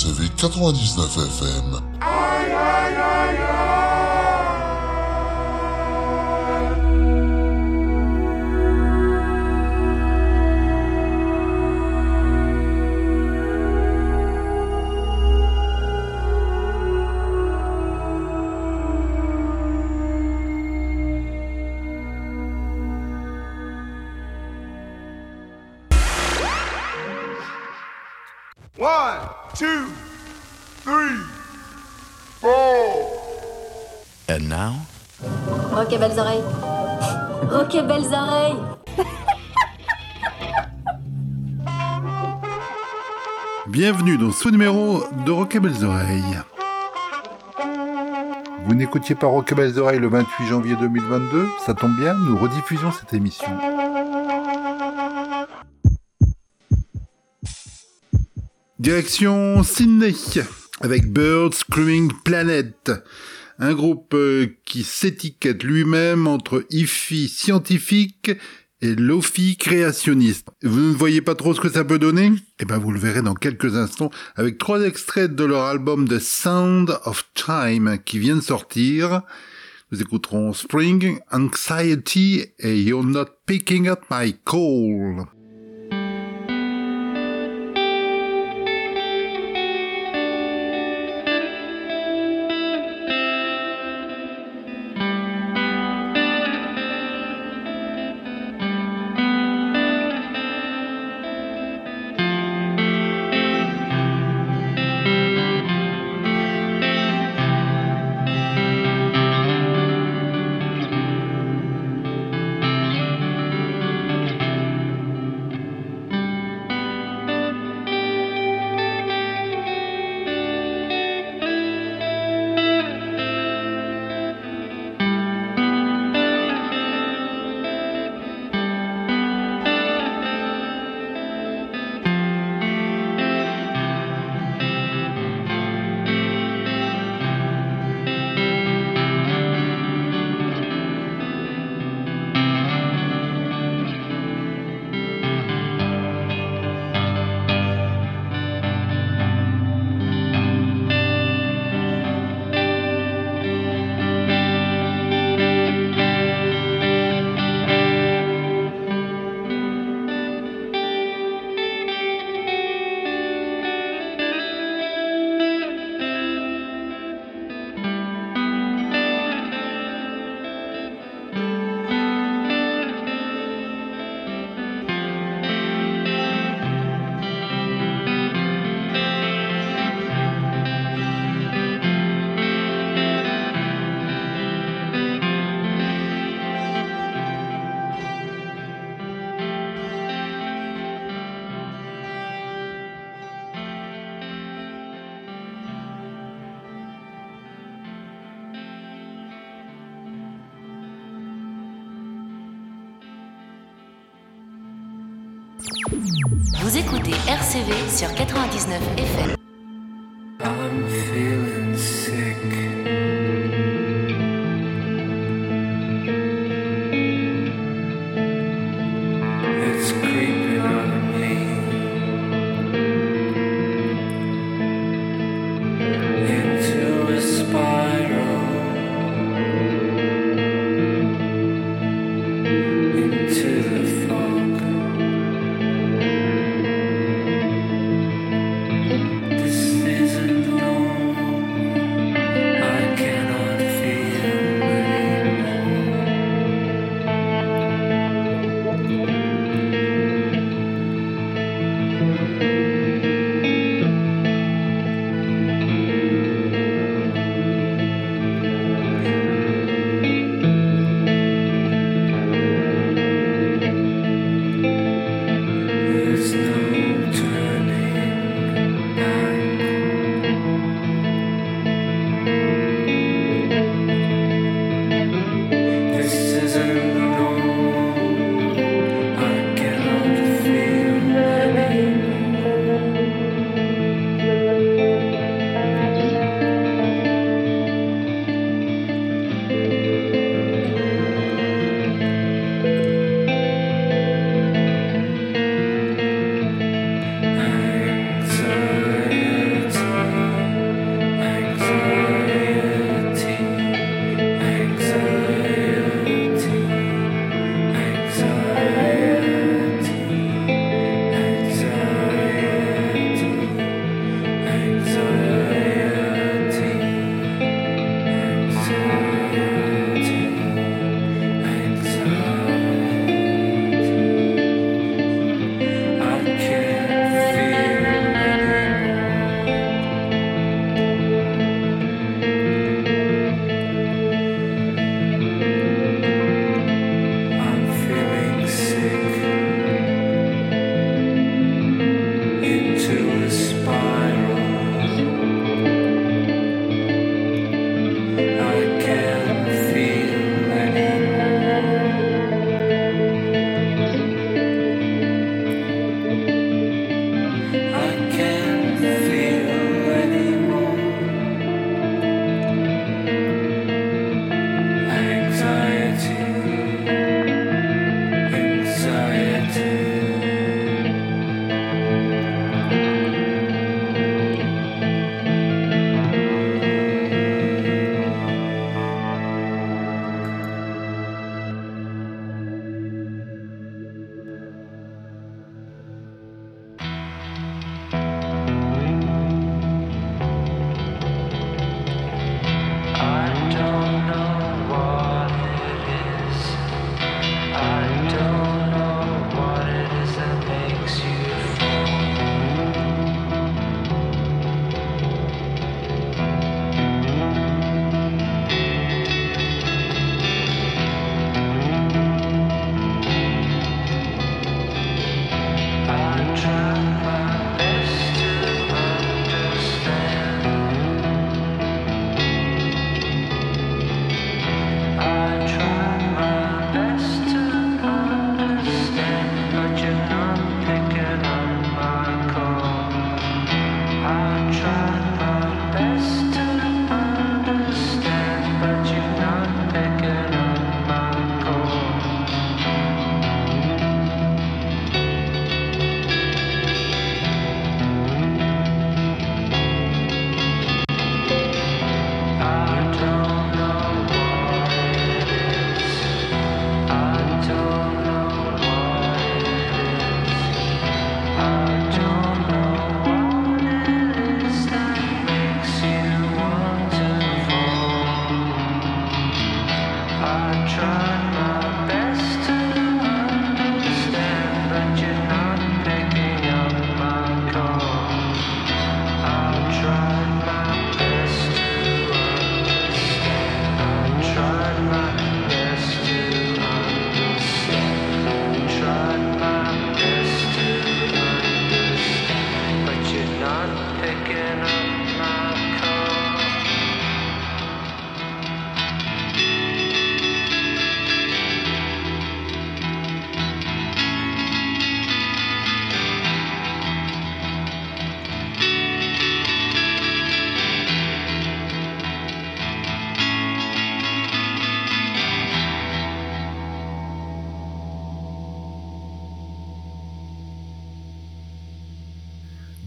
RCV 99 FM. Aïe, aïe, aïe, aïe. One, two, three, four. And now? Ok, belles oreilles. Ok, belles oreilles. Bienvenue dans ce numéro de Rock et Belles Oreilles. Vous n'écoutiez pas Rock et Belles Oreilles le 28 janvier 2022, ça tombe bien, nous rediffusons cette émission. Direction Sydney, avec Birds Screaming Planet, un groupe qui s'étiquette lui-même entre hi-fi scientifique et lo-fi créationniste. Vous ne voyez pas trop ce que ça peut donner ? Eh ben vous le verrez dans quelques instants avec 3 extraits de leur album The Sound of Time qui vient de sortir. Nous écouterons Spring, Anxiety et You're Not Picking Up My Call. Vous écoutez RCV sur 99 FM. I'm feeling sick. It's creeping on me. Into a spiral. Into the fog. This isn't normal.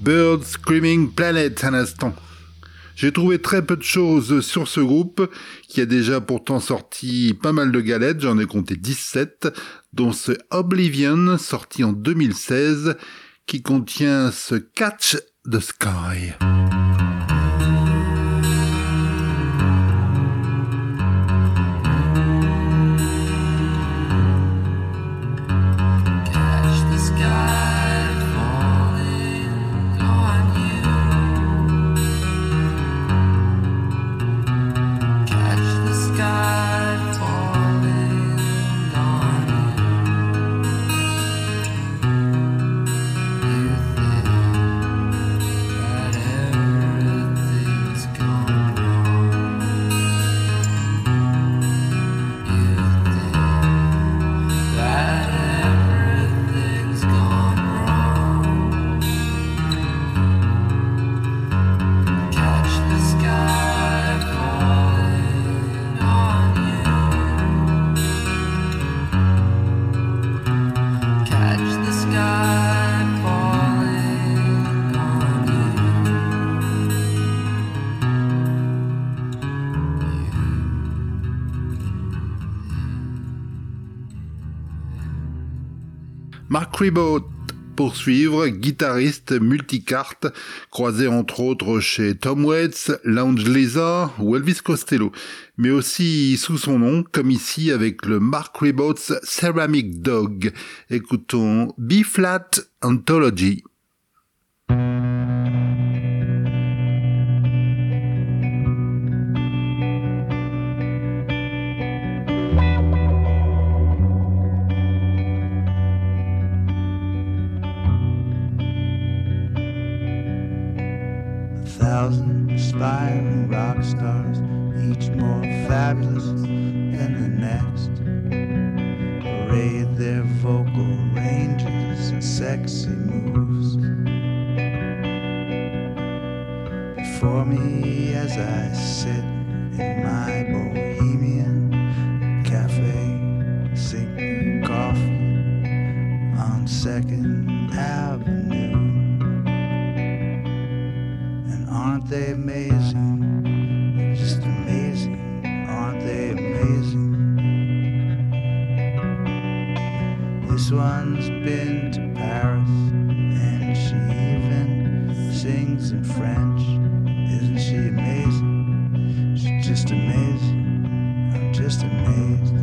Bird Screaming Planet à l'instant. J'ai trouvé très peu de choses sur ce groupe, qui a déjà pourtant sorti pas mal de galettes, j'en ai compté 17, dont ce Oblivion, sorti en 2016, qui contient ce Catch the Sky. Mark Ribot, pour suivre, guitariste multicarte, croisé entre autres chez Tom Waits, Lounge Lizard ou Elvis Costello, mais aussi sous son nom, comme ici avec le Mark Ribot's Ceramic Dog. Écoutons B-Flat Anthology. Thousand aspiring rock stars, each more fabulous than the next, parade their vocal ranges and sexy moves before me as I sit in my bohemian cafe, sipping coffee on 2nd Avenue. Aren't they amazing? Just amazing. Aren't they amazing? This one's been to Paris, and she even sings in French. Isn't she amazing? She's just amazing. I'm just amazed.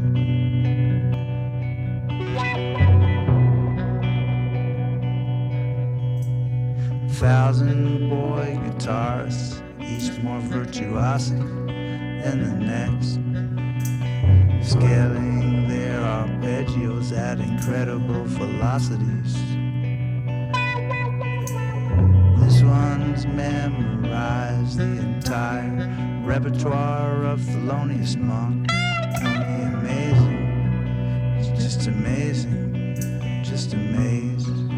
1,000 boy guitarists, each more virtuosic than the next, scaling their arpeggios at incredible velocities. This one's memorized the entire repertoire of Thelonious Monk. Ain't he amazing? It's just amazing, just amazed.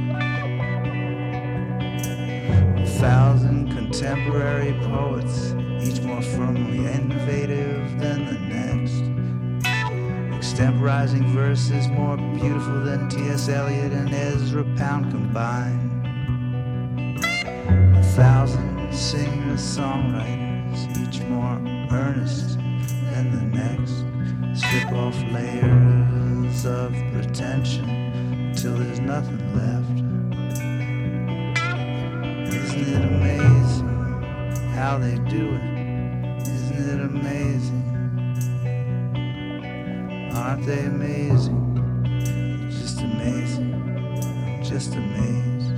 1,000 contemporary poets, each more firmly innovative than the next, extemporizing verses more beautiful than T.S. Eliot and Ezra Pound combined. 1,000 singer-songwriters, each more earnest than the next, strip off layers of pretension till there's nothing left. Isn't it amazing how they do it? Isn't it amazing? Aren't they amazing? Just amazing. I'm just amazed.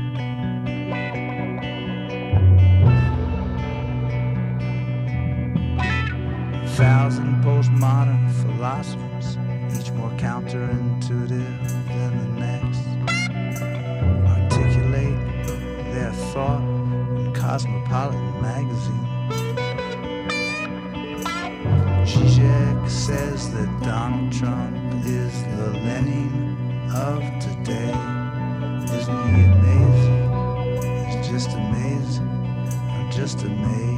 1,000 postmodern philosophers, each more counterintuitive than the next, articulate their thought in Cosmopolitan magazine. Zizek says that Donald Trump is the Lenin of today. Isn't he amazing? He's just amazing. I'm just amazed.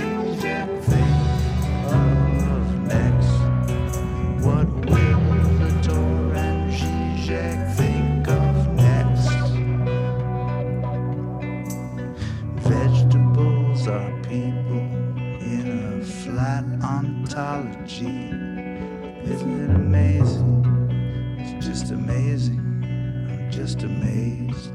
What will the people in a flat ontology. Isn't it amazing? It's just amazing. I'm just amazed.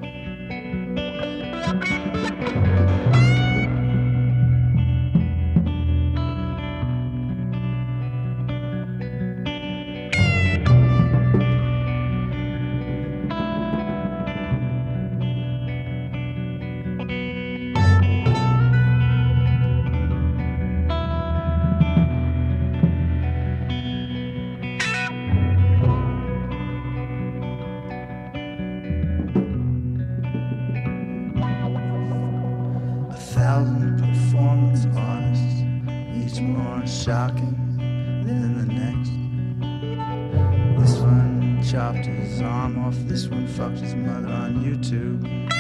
Shocking than the next. This one chopped his arm off, this one fucked his mother on YouTube.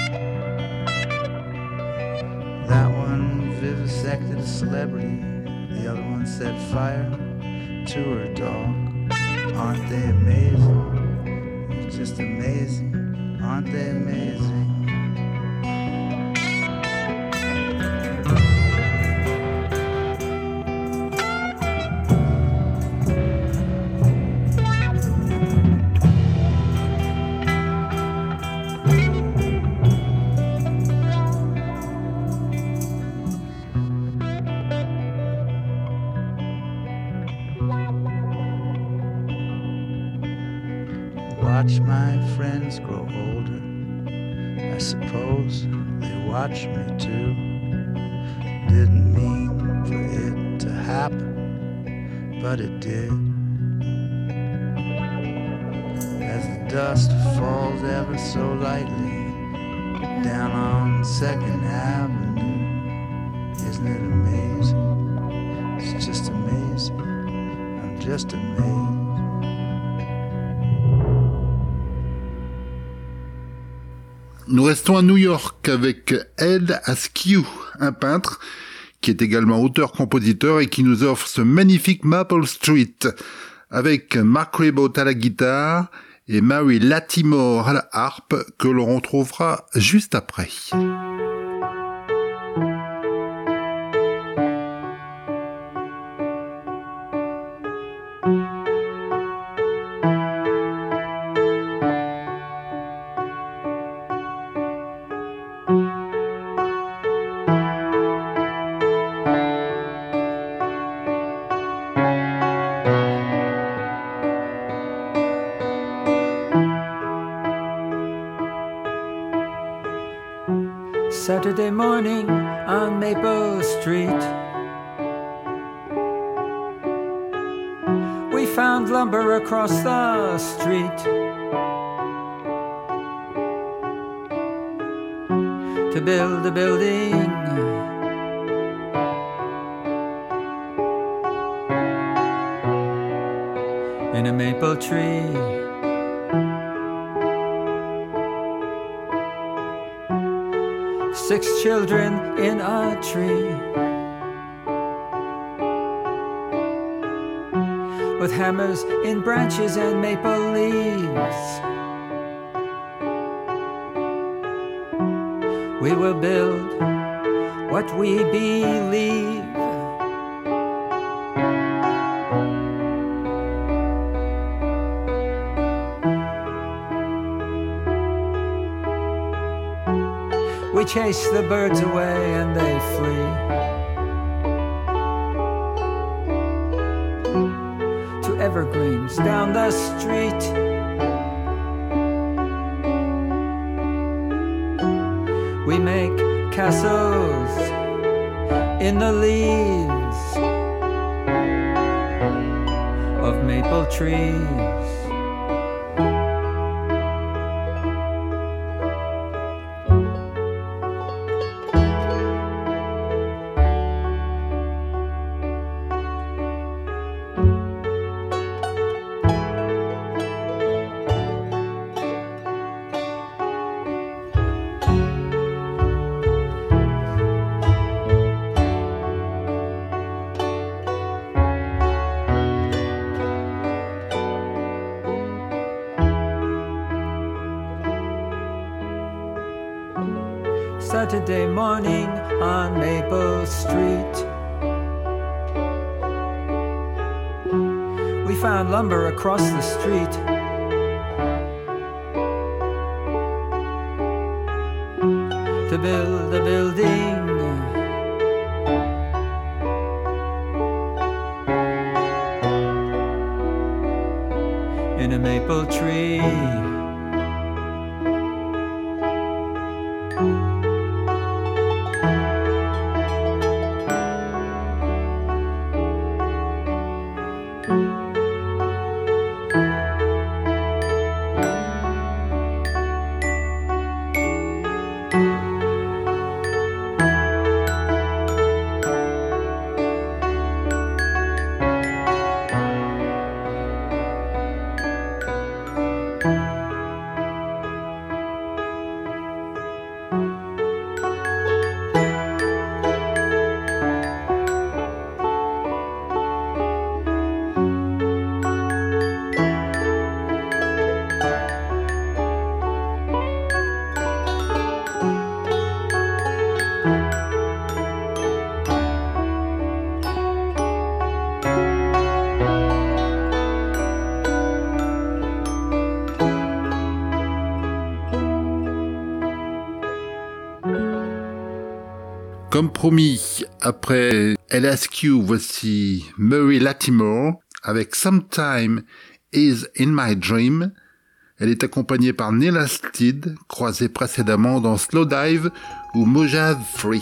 That one vivisected a celebrity, the other one set fire to her dog. Aren't they amazing? It's just amazing. Aren't they amazing? Watch my friends grow older. I suppose they watch me too. Didn't mean for it to happen, but it did. As the dust falls ever so lightly down on 2nd Avenue. Isn't it amazing? It's just amazing. I'm just amazed. Nous restons à New York avec Ed Askew, un peintre qui est également auteur-compositeur et qui nous offre ce magnifique Maple Street avec Mark Ribot à la guitare et Mary Latimore à la harpe que l'on retrouvera juste après. Saturday morning on Maple Street, we found lumber across the street to build a building. In a maple tree. 6 children in a tree with hammers in branches and maple leaves. We will build what we believe. We chase the birds away and they flee to evergreens down the street. We make castles in the leaves of maple trees. Saturday morning on Maple Street. We found lumber across the street. To build a building. In a maple tree. Comme promis, après LSQ, voici Murray Latimore avec Sometime Is In My Dream. Elle est accompagnée par Neil Halstead, croisé précédemment dans Slowdive ou Mojave Free.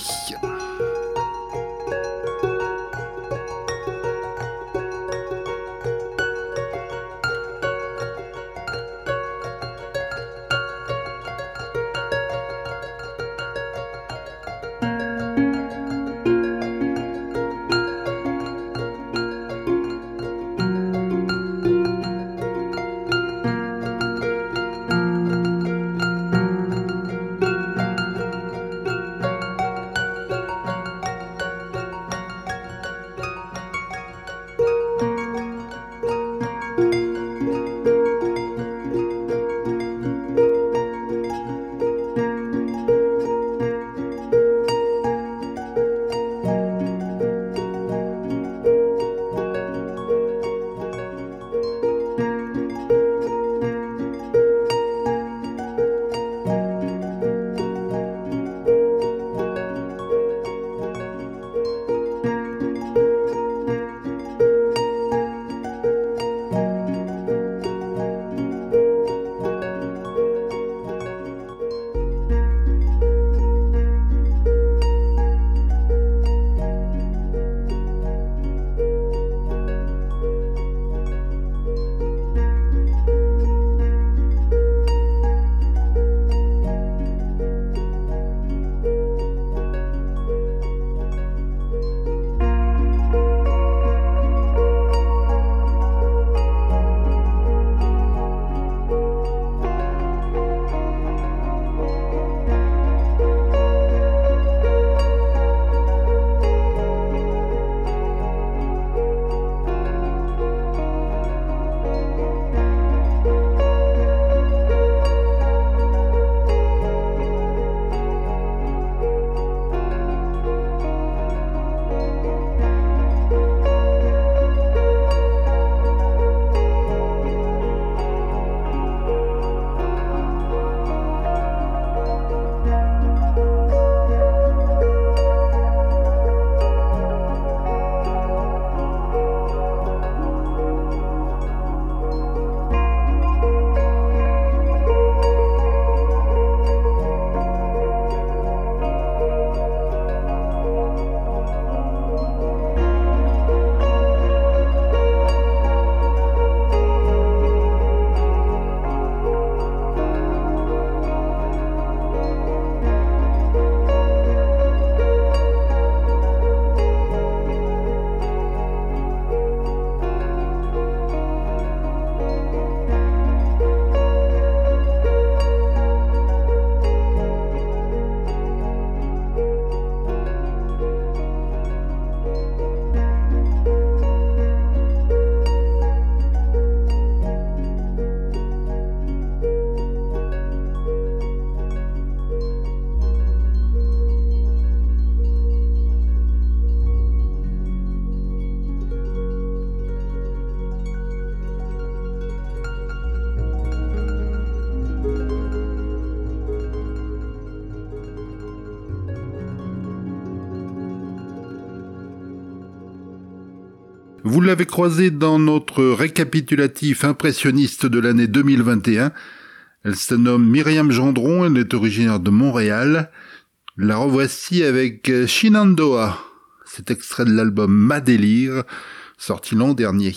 Vous l'avez croisée dans notre récapitulatif impressionniste de l'année 2021. Elle se nomme Myriam Gendron, elle est originaire de Montréal. La revoici avec Shenandoah. C'est extrait de l'album Ma Délire, sorti l'an dernier.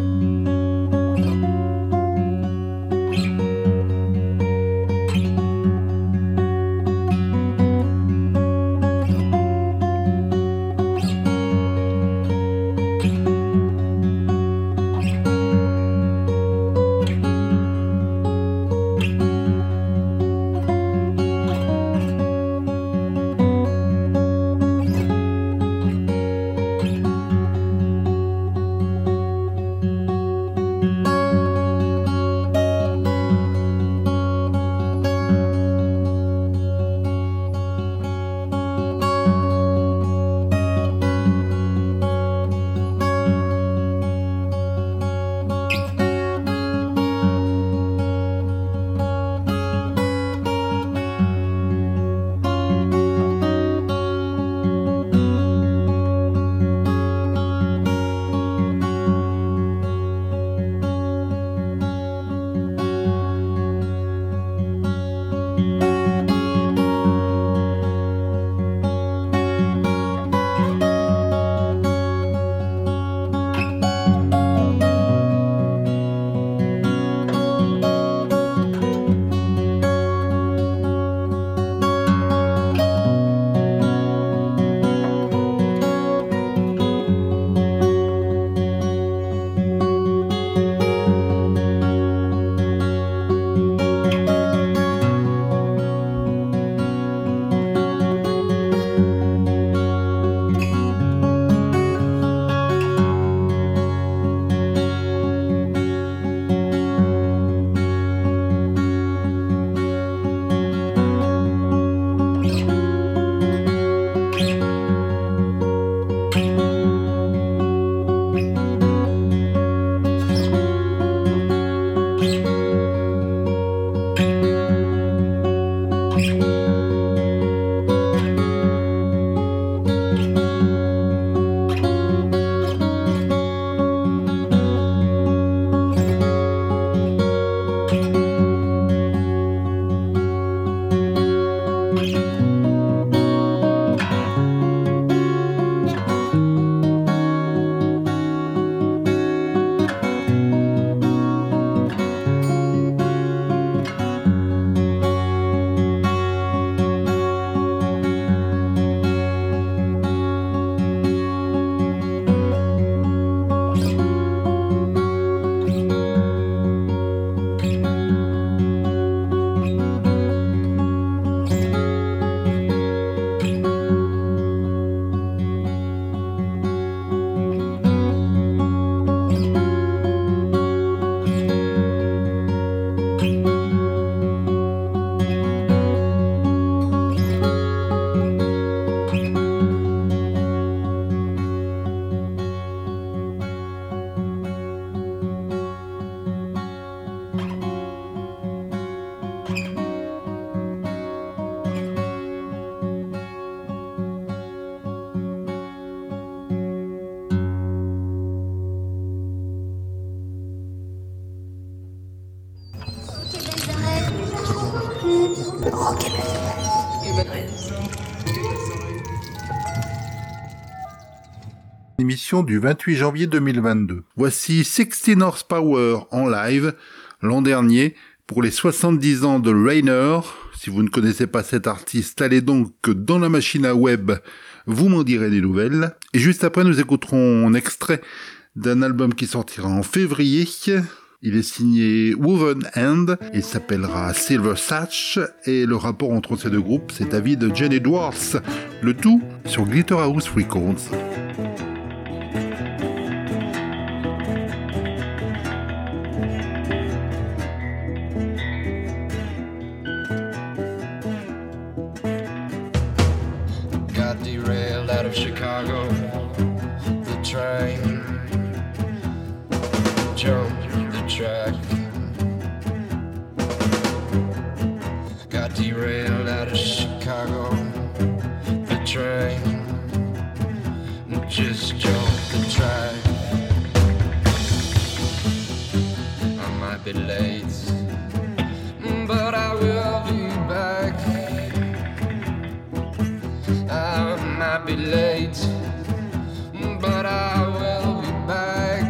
Émission du 28 janvier 2022. Voici 16 Horsepower en live l'an dernier pour les 70 ans de Rainer. Si vous ne connaissez pas cet artiste, allez donc dans la machine à web, vous m'en direz des nouvelles. Et juste après, nous écouterons un extrait d'un album qui sortira en février. Il est signé Woven Hand et s'appellera Silver Satch. Et le rapport entre ces deux groupes, c'est avis de Jen Edwards. Le tout sur Glitterhouse Records. Got derailed out of Chicago. The train jumped the track. Got derailed out of Chicago. The train just jumped the track. be late, but I will be back. I might be late, but I will be back.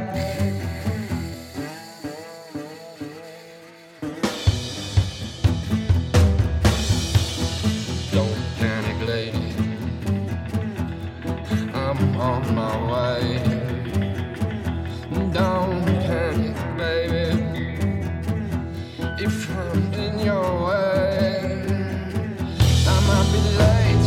Don't panic, lady, I'm on my way. Don't panic, baby, if I'm in your way. I might be late,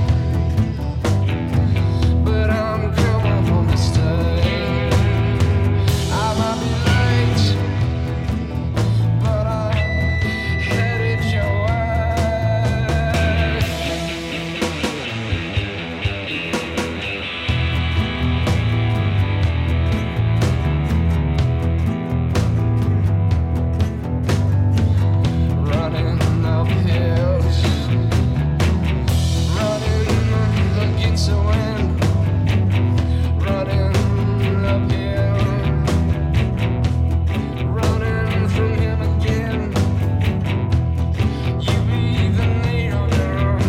but I'm coming home to stay. I might be late, but I'm headed your way. Running up hills, running against the wind, running uphill, running from him again. You even need on your own.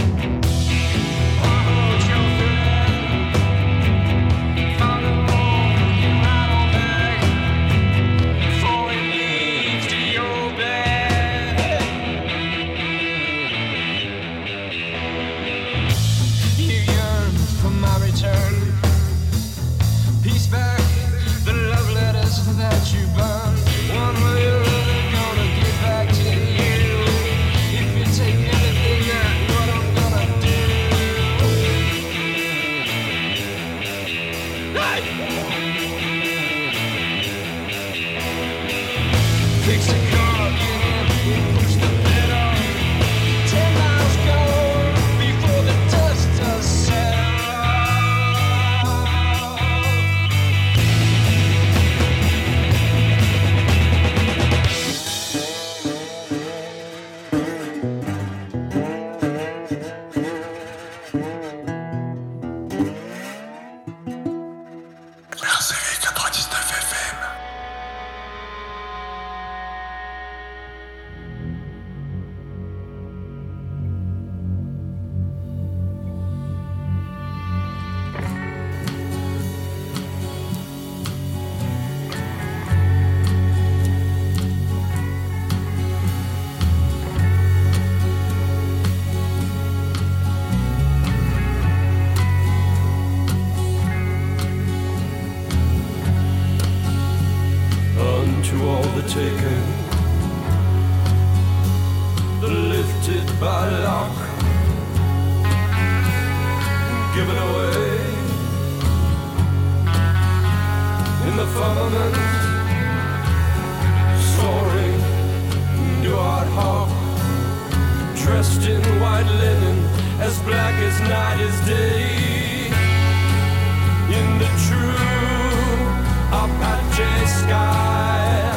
Hold your friend, follow him right on back before he leaves to your bed. You yearn for my return. Peace back, the love letters that you burned. One way or other, gonna get back to you. If you take anything, that's what I'm gonna do. Hey! Fix the car, get in, push the pedal. 10 miles go before the dust does settle. RCV 99 FM. Unto all the taken, the lifted by lock, given away in the firmament, soaring to our hawk, dressed in white linen, as black as night is day, in the true Apache sky.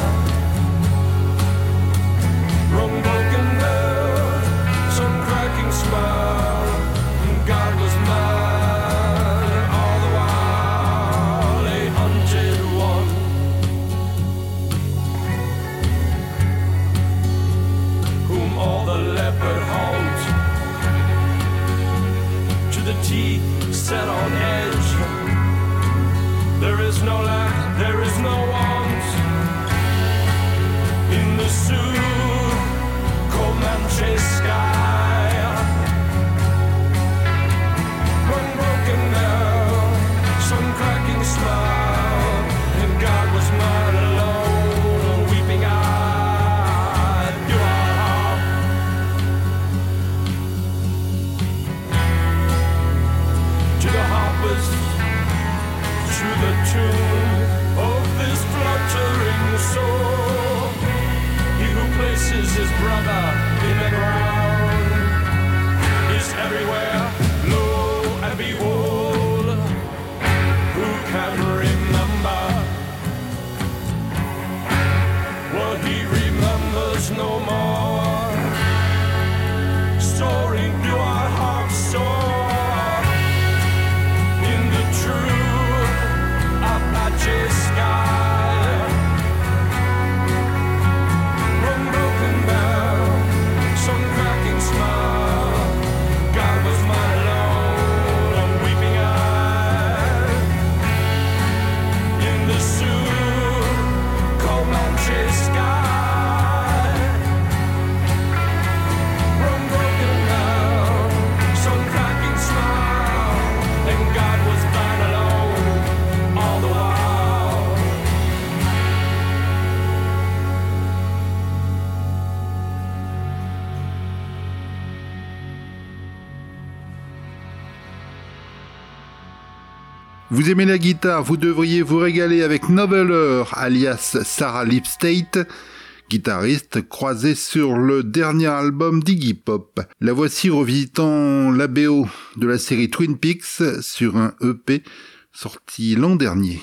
Wrong broken bell, some cracking smile. God was mine all the while, a hunted one. Whom all the leopard haunt, to the teeth set on edge. There is no lack, there is no want in the Sioux Comanche sky. One broken bell, some cracking smile, and God was mine alone, weeping eyed. You are to the harpers, to the tune of this fluttering soul. He who places his brother in the ground is everywhere, lo and behold. Who can remember what he remembers no more? Soaring to our hearts soar in the true Apache sky. Vous aimez la guitare, vous devriez vous régaler avec Noveler, alias Sarah Lipstate, guitariste croisée sur le dernier album d'Iggy Pop. La voici revisitant la BO de la série Twin Peaks sur un EP sorti l'an dernier.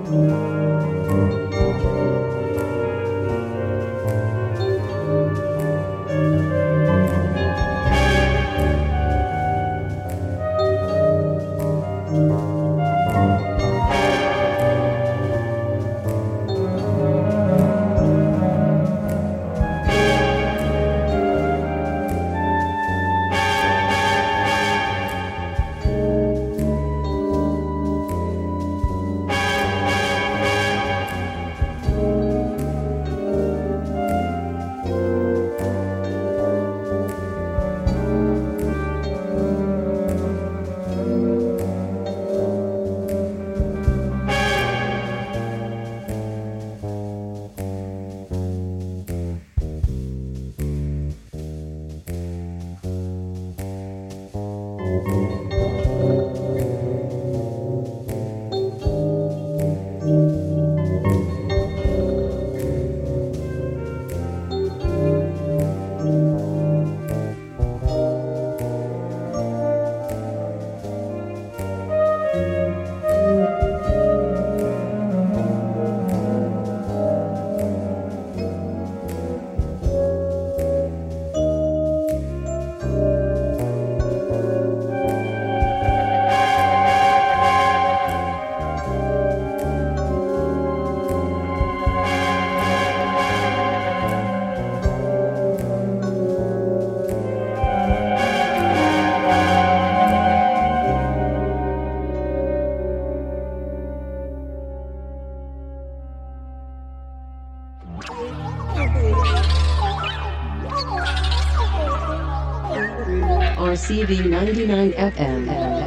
RCV 99 FM.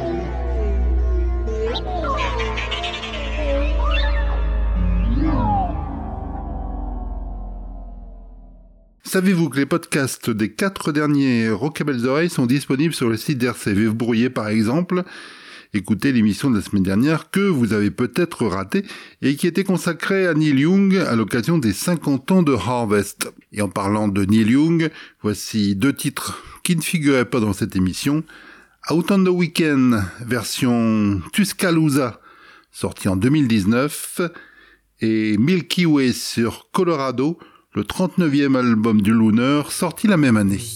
Savez-vous que les podcasts des 4 derniers Rock à Belles Oreilles sont disponibles sur le site d'RCV? Vous pourriez par exemple écouter l'émission de la semaine dernière que vous avez peut-être ratée et qui était consacrée à Neil Young à l'occasion des 50 ans de Harvest. Et en parlant de Neil Young, voici 2 titres qui ne figuraient pas dans cette émission. Out on the Weekend, version Tuscaloosa, sorti en 2019, et Milky Way sur Colorado, le 39e album du Looner, sorti la même année.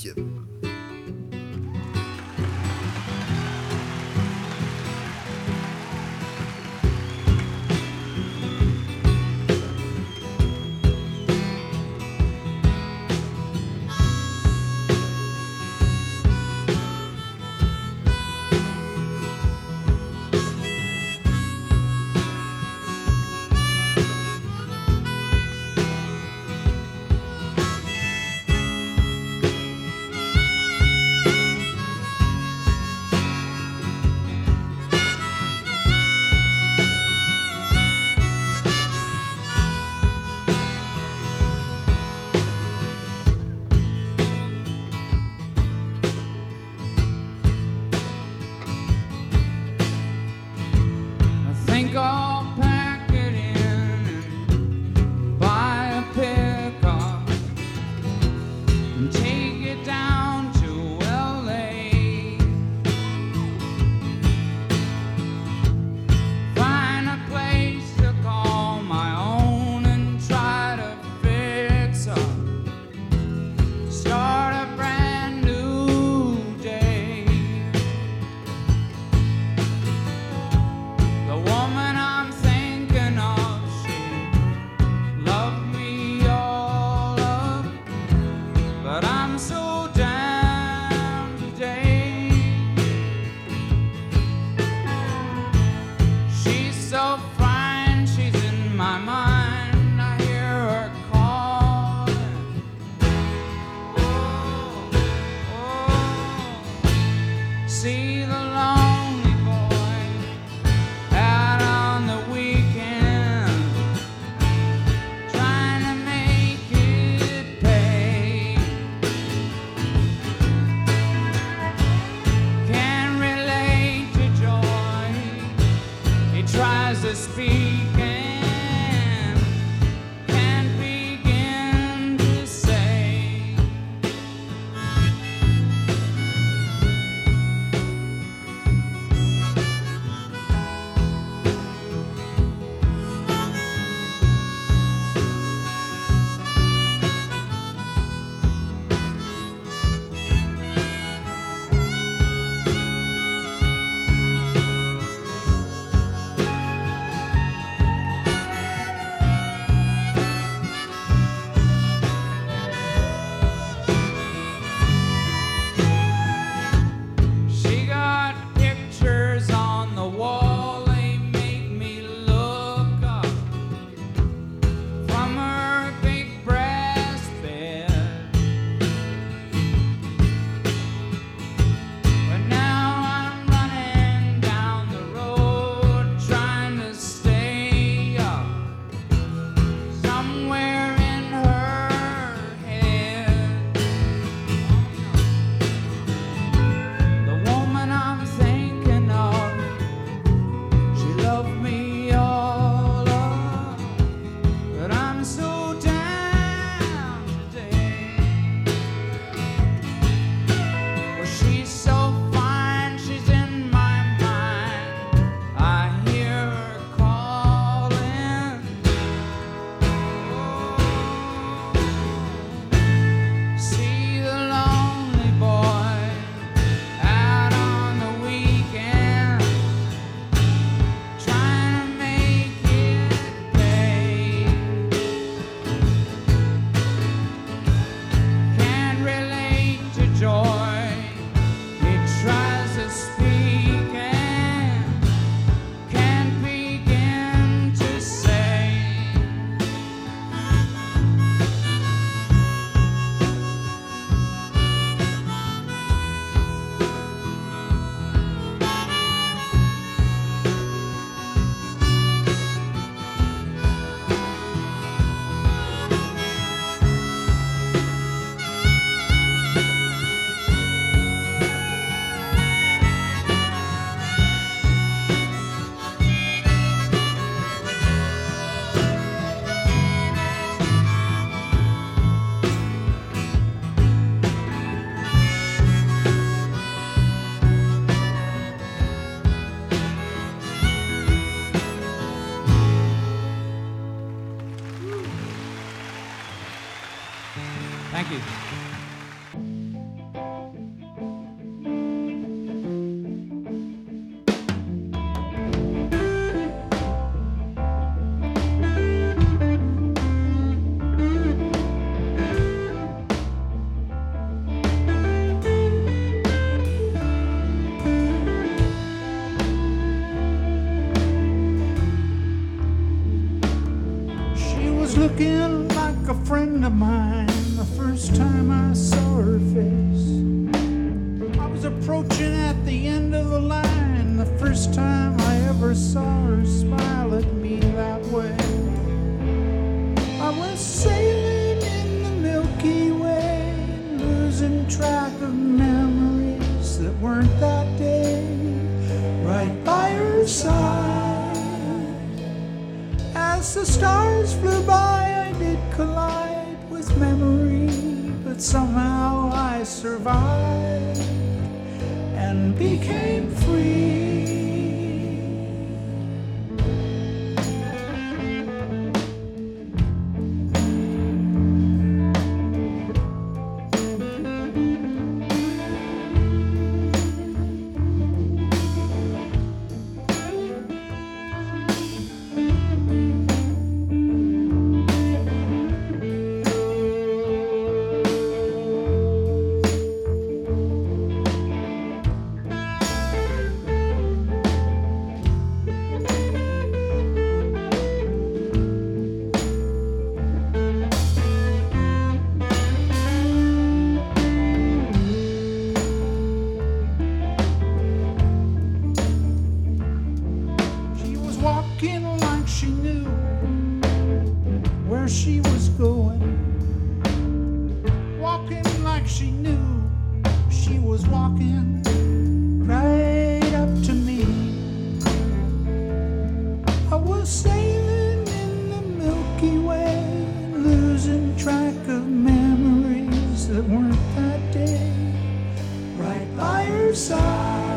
Thank you. She was looking like a friend of mine the first time I saw her face. I was approaching at the end of the line the first time I ever saw her smile at me that way. I was sailing in the Milky Way, losing track of memories that weren't that day, right by her side. As the stars flew by, I did collide with memory, but somehow I survived and became free. She was walking like she knew where she was going, walking like she knew she was walking right up to me. I was sailing in the Milky Way, losing track of memories that weren't that day, right by her side.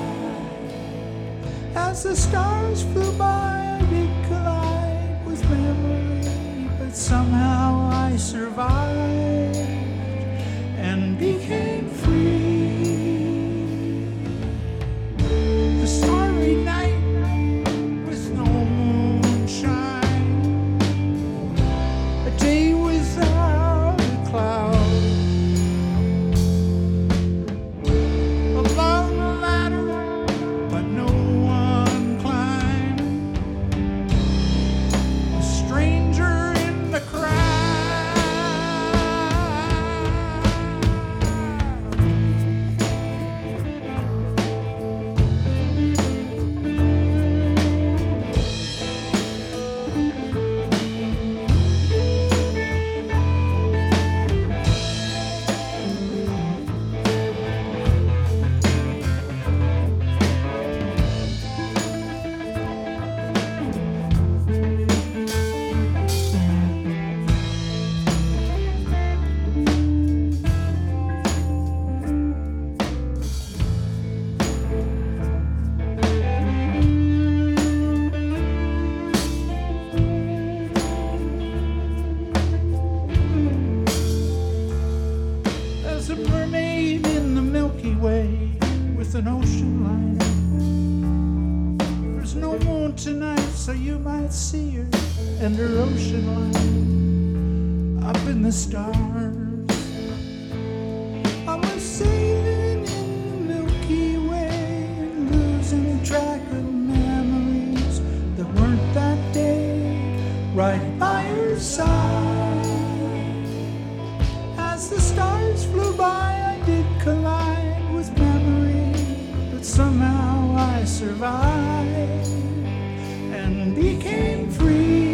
As the stars flew by, I did collide with memory, but somehow I survived and became free. The starry night with no moonshine, a day without a cloud, along the ladder, but no one climbed. A stranger in the crowd. There's a mermaid in the Milky Way with an ocean liner. There's no moon tonight, so you might see her and her ocean liner up in the stars. I was sailing in the Milky Way, losing track of memories that weren't that day, right by her side. As the stars flew by, I did collide with memory, but somehow I survived and became free.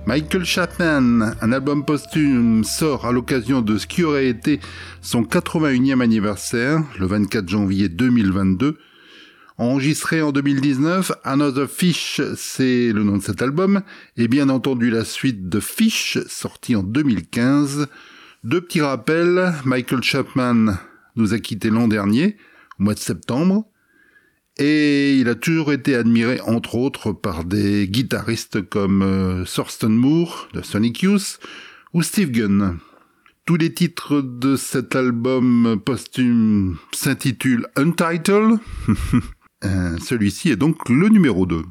Michael Chapman, un album posthume, sort à l'occasion de ce qui aurait été son 81e anniversaire, le 24 janvier 2022. Enregistré en 2019, Another Fish, c'est le nom de cet album, et bien entendu la suite de Fish, sorti en 2015. Deux petits rappels, Michael Chapman nous a quittés l'an dernier, au mois de septembre, et il a toujours été admiré, entre autres, par des guitaristes comme Thurston Moore, de Sonic Youth, ou Steve Gunn. Tous les titres de cet album posthume s'intitulent Untitled. Celui-ci est donc le numéro 2.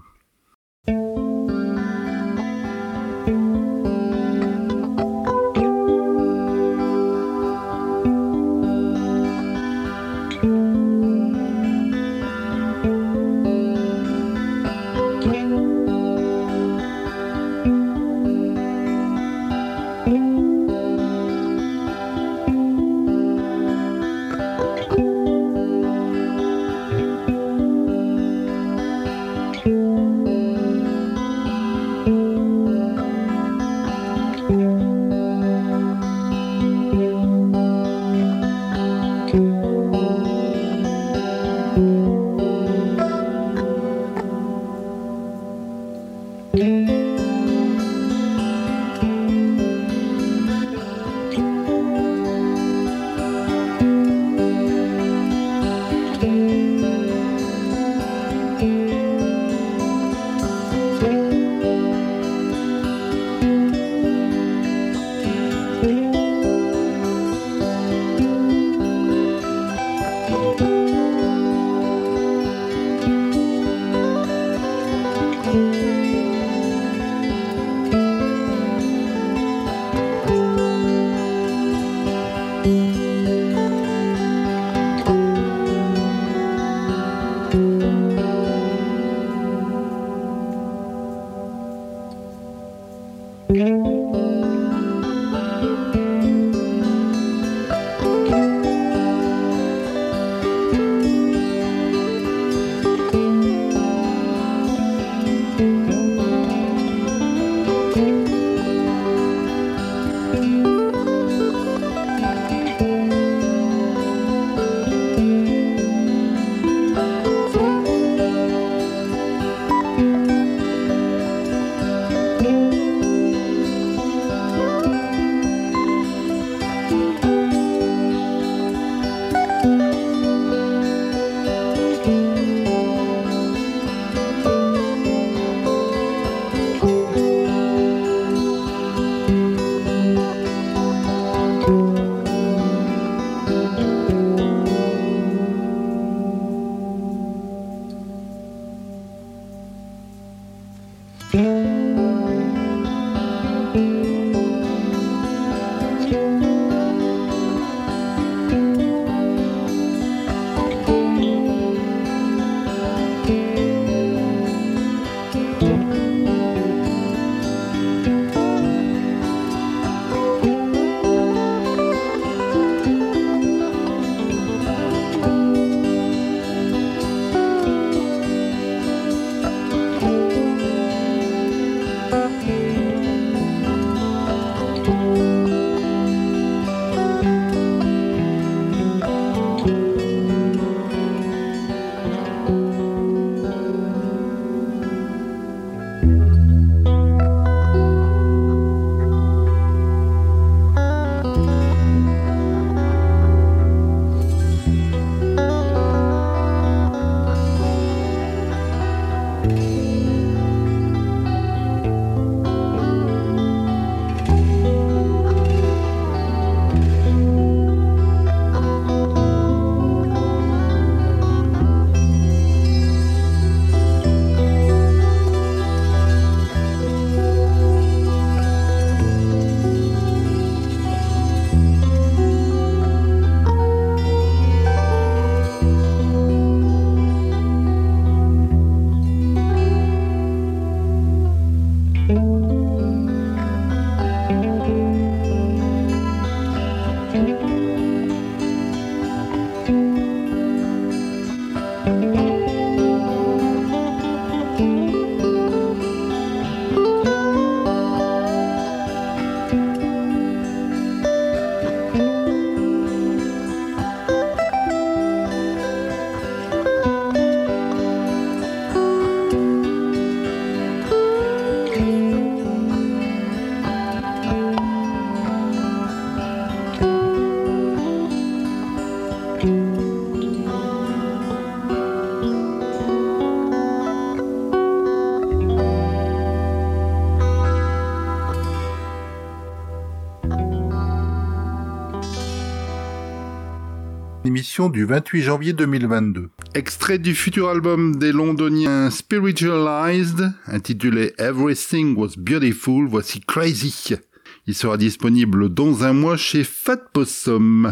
Émission du 28 janvier 2022. Extrait du futur album des londoniens Spiritualized, intitulé Everything Was Beautiful, voici Crazy. Il sera disponible dans un mois chez Fat Possum.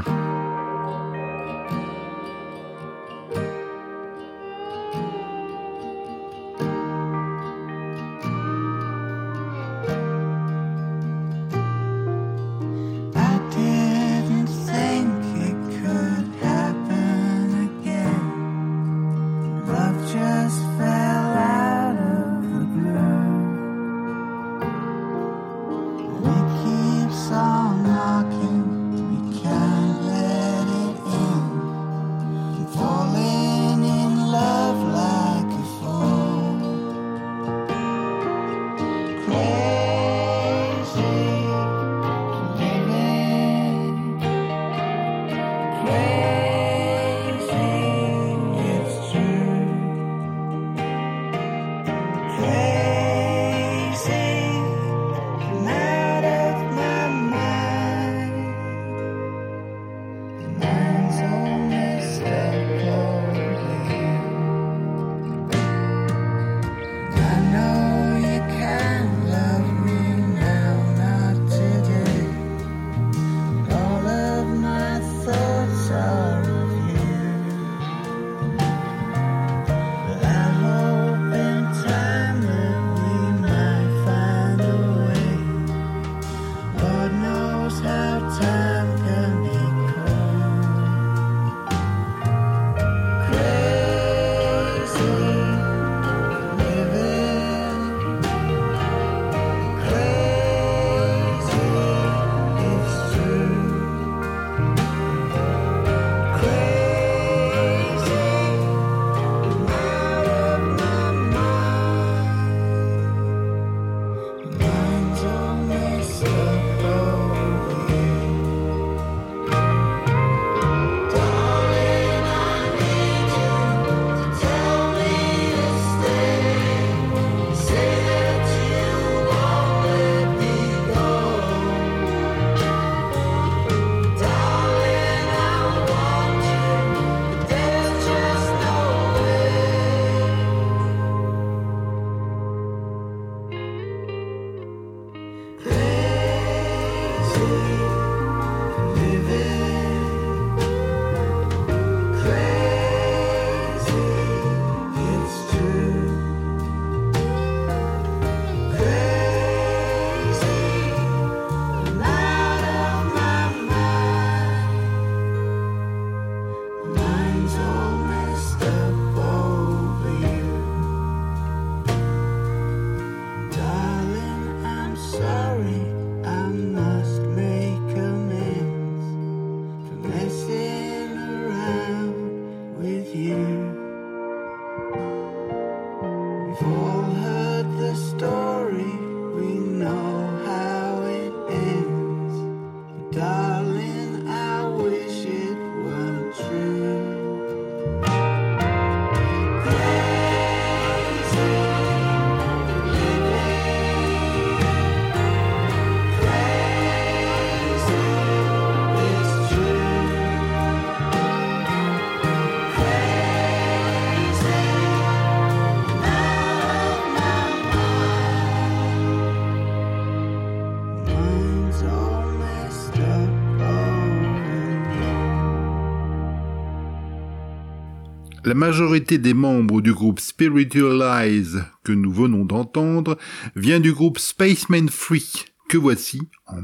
La majorité des membres du groupe Spiritualize que nous venons d'entendre vient du groupe Spaceman Free, que voici en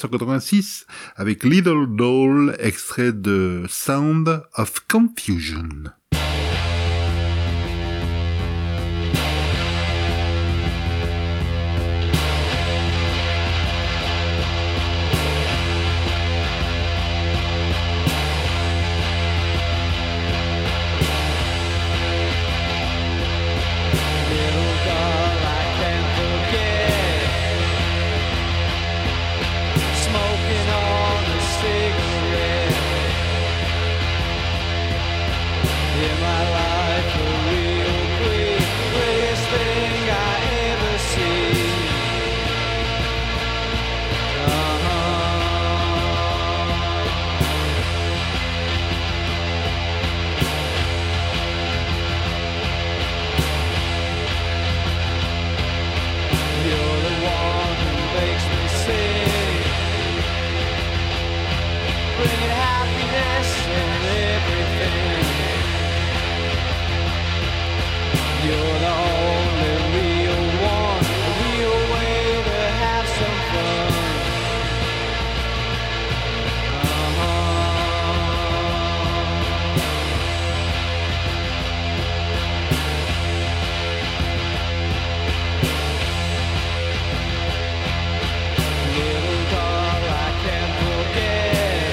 1986 avec Little Doll, extrait de Sound of Confusion. Smoking on a cigarette. and everything. You're the only real one, a real way to have some fun. Little doll I can't forget,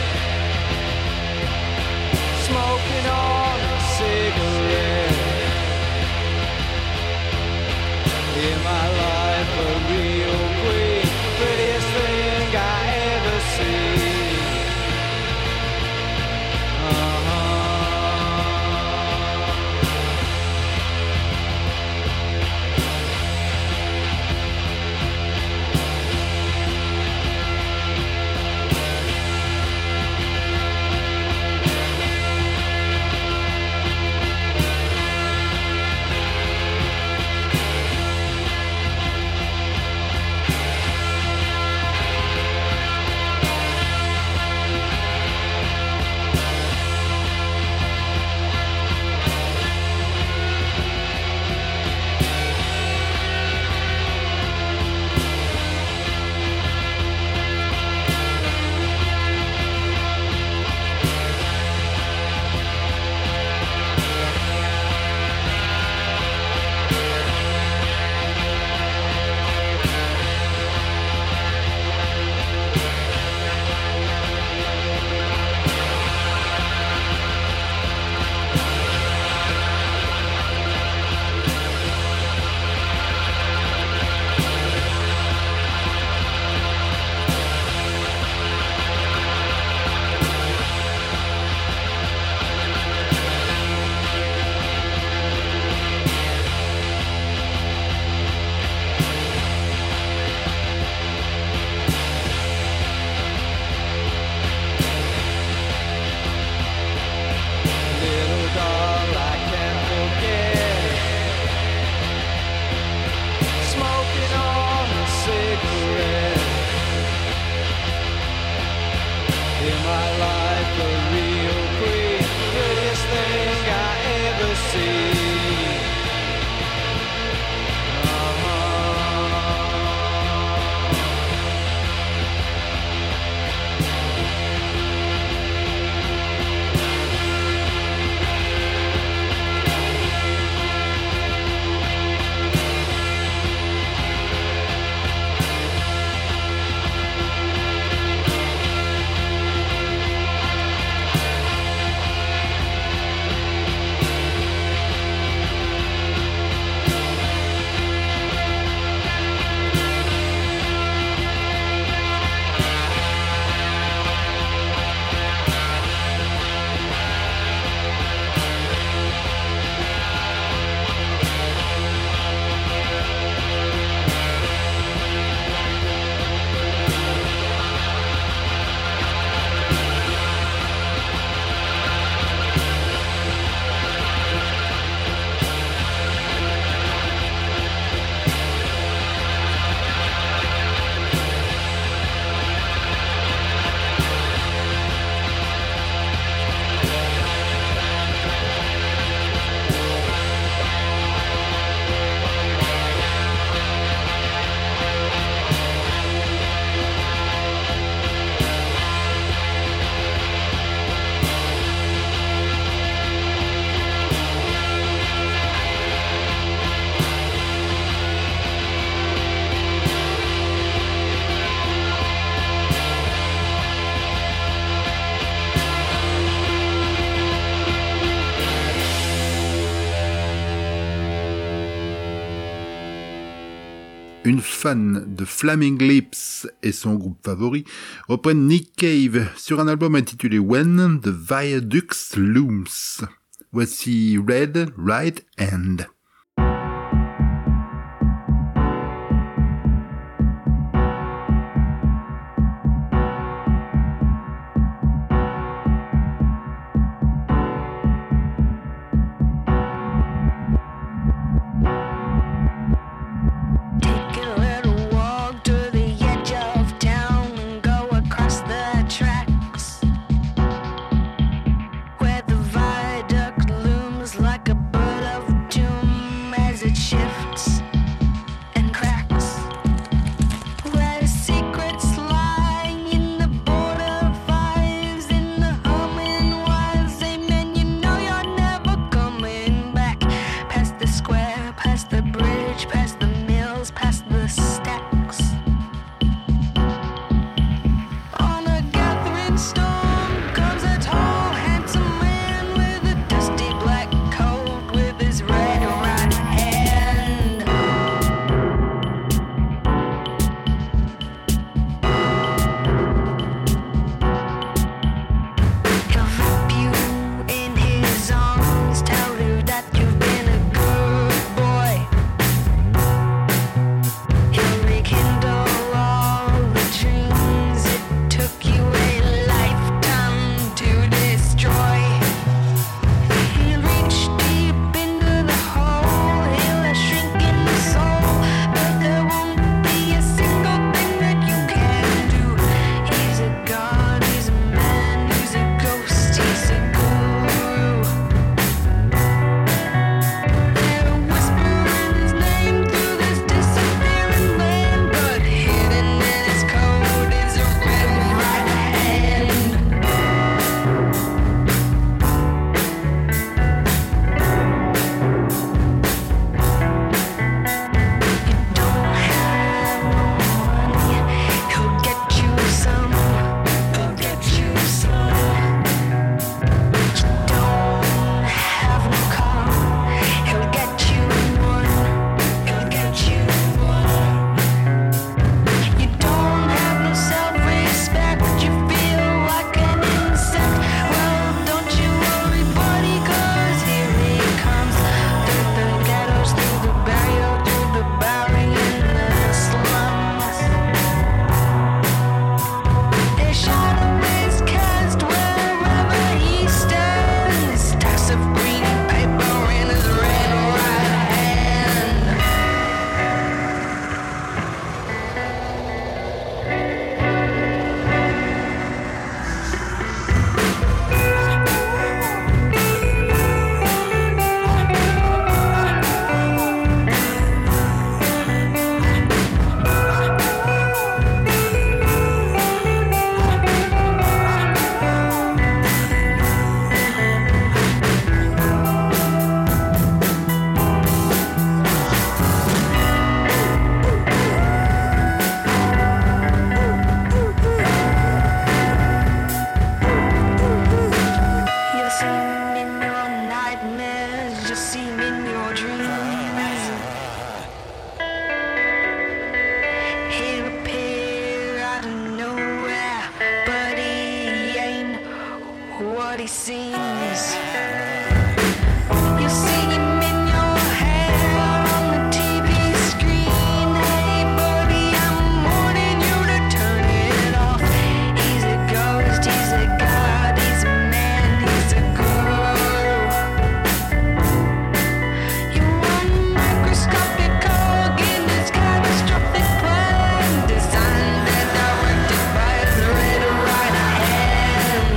smoking on a cigarette. In my life a real queen, prettiest thing I ever see. Little doll I can't forget, smoking on a cigarette. In my life a real queen, prettiest thing I ever see. Une fan de Flaming Lips et son groupe favori reprennent Nick Cave sur un album intitulé When the Viaduct Looms. Voici Red Right Hand. what he seems. You see him in your hair on the TV screen. Hey buddy, I'm warning you to turn it off. He's a ghost, he's a god, he's a man, he's a guru. You want microscopic organ, this catastrophic plan, designed and directed by his red right hand.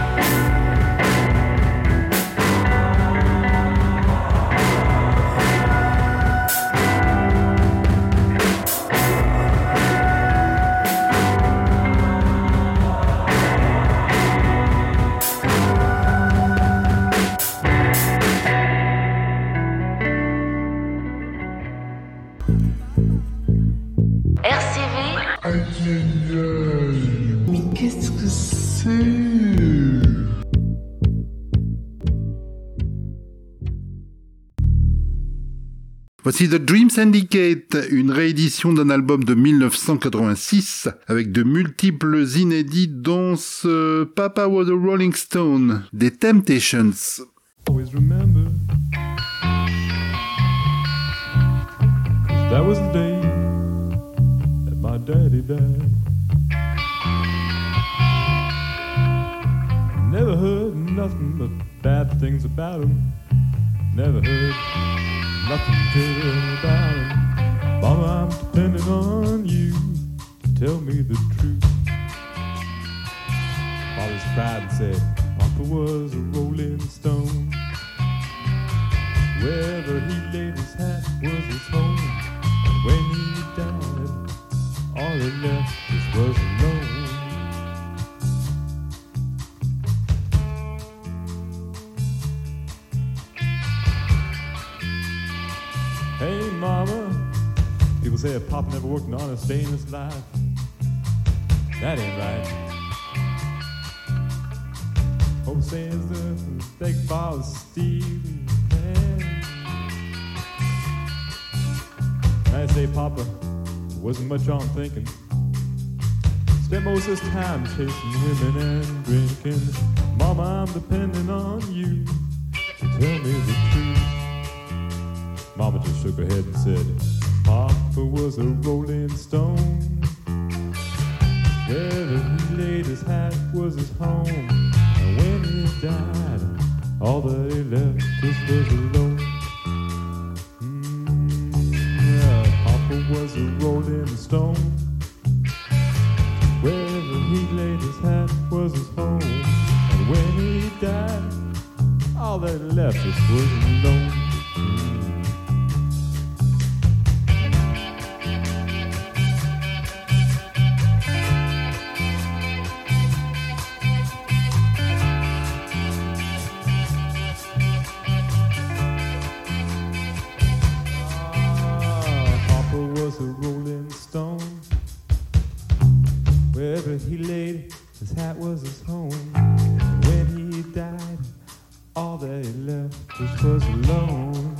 Mais qu'est-ce que c'est? Voici The Dream Syndicate, une réédition d'un album de 1986 avec de multiples inédits dont ce Papa Was a Rolling Stone, des Temptations. Always remember, 'cause that was the day that my daddy died. Never heard nothing but bad things about him. Never heard nothing good about him. Mama, I'm depending on you to tell me the truth. Father's cried and said, Papa was a rolling stone. Wherever he laid his hat was his home. And when he died, all he left us was alone. Hey mama, people say a pop never worked an honest day in his life. That ain't right. Hope says the big father stealing. I say Papa wasn't much on thinking. Spent most of his time chasing women and drinking. Mama, I'm depending on you to tell me the truth. Mama just shook her head and said, Papa was a rolling stone. Wherever he laid his hat was his home. And when he died, all that he left us was alone. Yeah, Papa was a rolling stone. Wherever he laid his hat was his home. And when he died, all that he left us was alone. Wherever he laid his hat was his home. When he died, all that he left us was alone.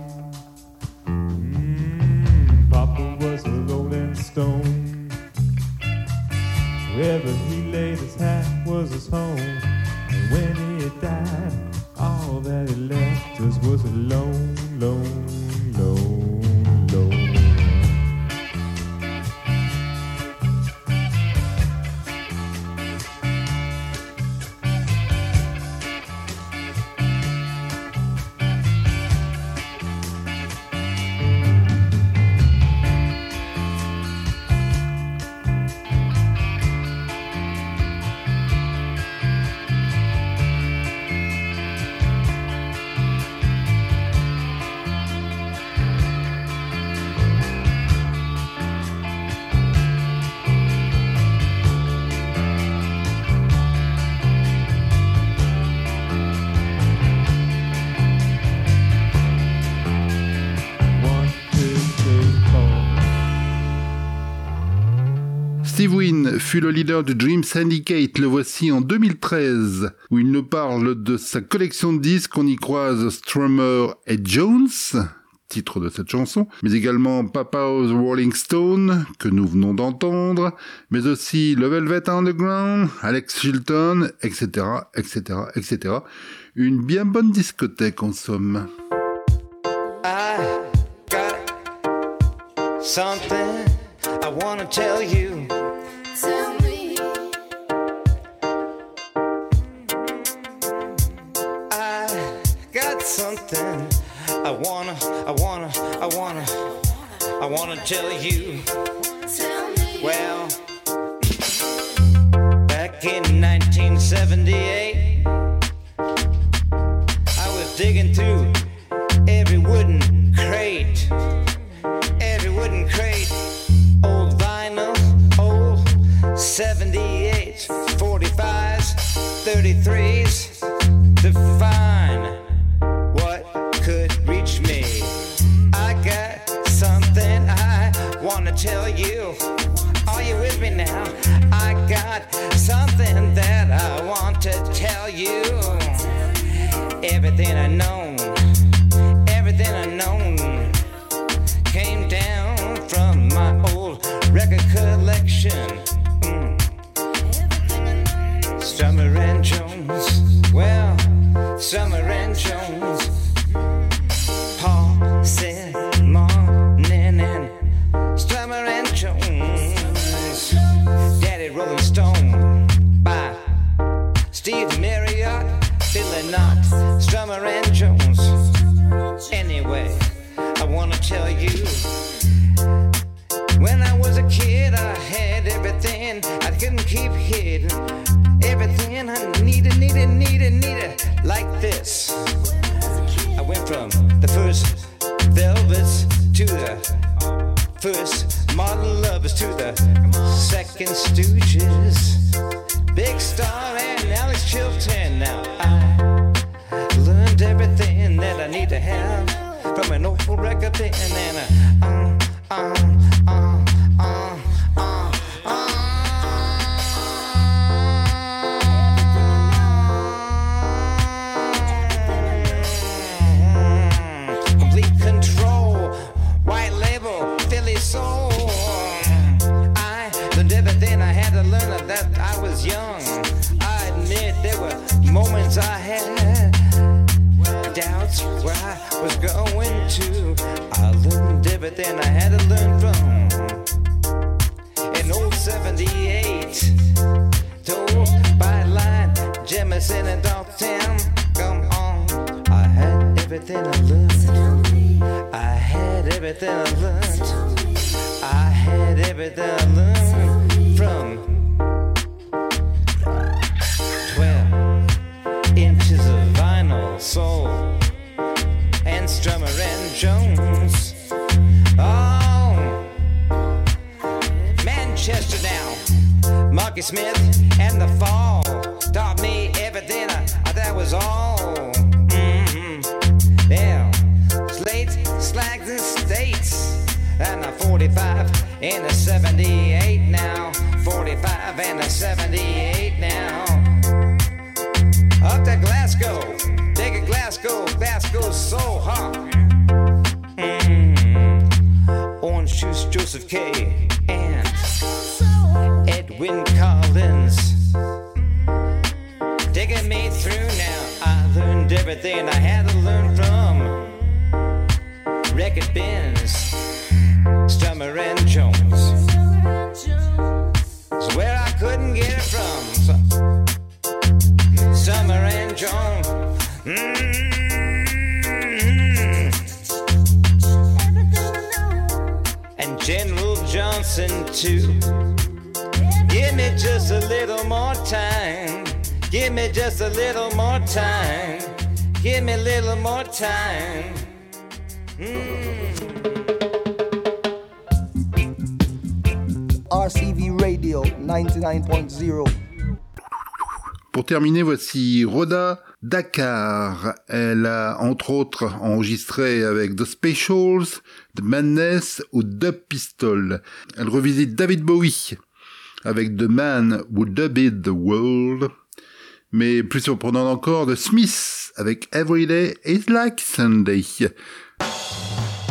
Papa was a rolling stone. Wherever he laid his hat was his home. And when he died, all that he left us was alone, lone, lone, lone. Steve Wynn fut le leader du Dream Syndicate, le voici en 2013, où il nous parle de sa collection de disques. On y croise Strummer et Jones, titre de cette chanson, mais également Papa's Rolling Stone, que nous venons d'entendre, mais aussi le Velvet Underground, Alex Chilton, etc., etc., etc. Une bien bonne discothèque en somme. I got something I wanna tell you. Tell me. I got something I wanna tell you. Tell me. Well, back in 1978, I was digging through every wooden crate, old vinyl, old 78s, 45s, 33s, to find what could reach me. I got something I wanna tell you. Are you with me now? I got something that I want to tell you. Everything I know came down from my old record collection. Summer and Jones, well, Summer and Jones, Paul Simon and Summer and Jones, Daddy Rolling Stone by Steve Marriott, Billy Knox, Summer and Jones. Anyway, I wanna tell you, when I was a kid, I had everything I couldn't keep hidden. Everything I needed, like this. I went from the first Velvets to the first Modern Lovers to the second Stooges, Big Star and Alex Chilton. Now I learned everything that I need to have from an old record bin, and complete control, white label, Philly soul. I learned everything I had to learn that I was young. I admit there were moments I had doubts where I was going to. I learned everything I had to learn from an old 78, told by line, Jemison and Dalton. Come on, I had everything I learned. I had everything I learned. I had everything I learned from 12 inches of vinyl, soul, and Strummer and Jones. Oh, Manchester now, Marky Smith and the Fall taught me everything that was all. Yeah, slates, slags, and states, and a 45 and a 78 now, 45 and a 78 now. Up to Glasgow, take a Glasgow's so hot. Orange Juice, Joseph K. and Edwin Collins, taking me through now. I learned everything I had to learn from record bins, Strummer and Jones. It's where I couldn't get it from. Summer and Jones. And General Johnson too. Give me just a little more time. Give me just a little more time. Give me a little more time. RCV Radio 99.0. Pour terminer, voici Rhoda Dakar. Elle a entre autres enregistré avec The Specials, The Madness ou Dub Pistol. Elle revisite David Bowie avec The Man Who Dubbed the World. Mais plus surprenant encore, The Smiths avec Every Day is Like Sunday.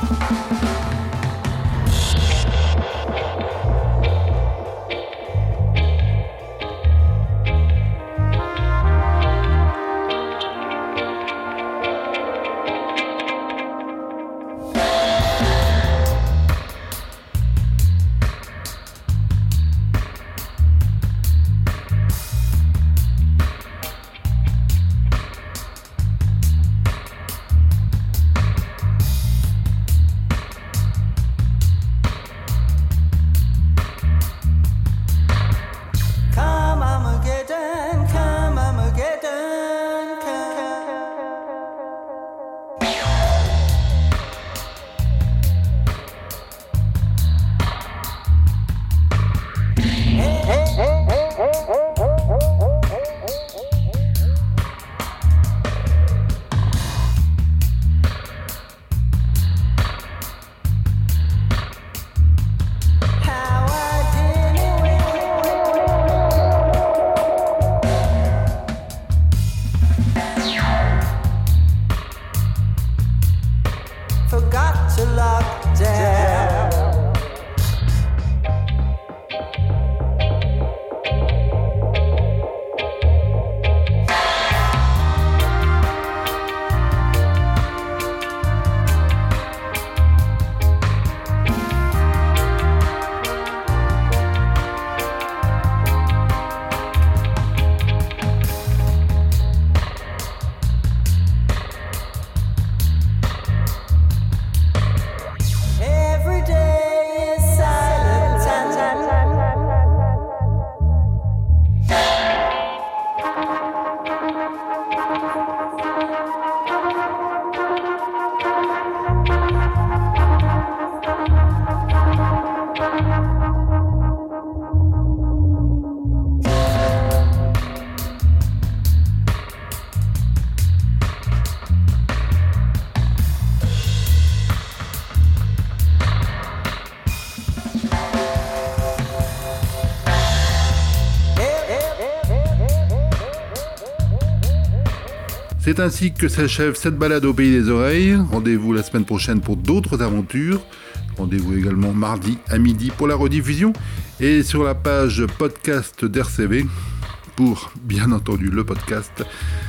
C'est ainsi que s'achève cette balade au Pays des Oreilles. Rendez-vous la semaine prochaine pour d'autres aventures. Rendez-vous également mardi à midi pour la rediffusion et sur la page podcast d'RCV pour, bien entendu, le podcast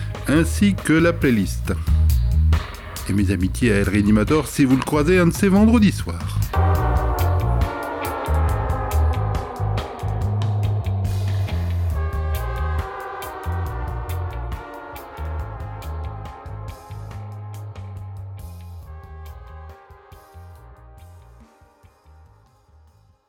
ainsi que la playlist. Et mes amitiés à El Réanimator si vous le croisez un de ces vendredis soirs.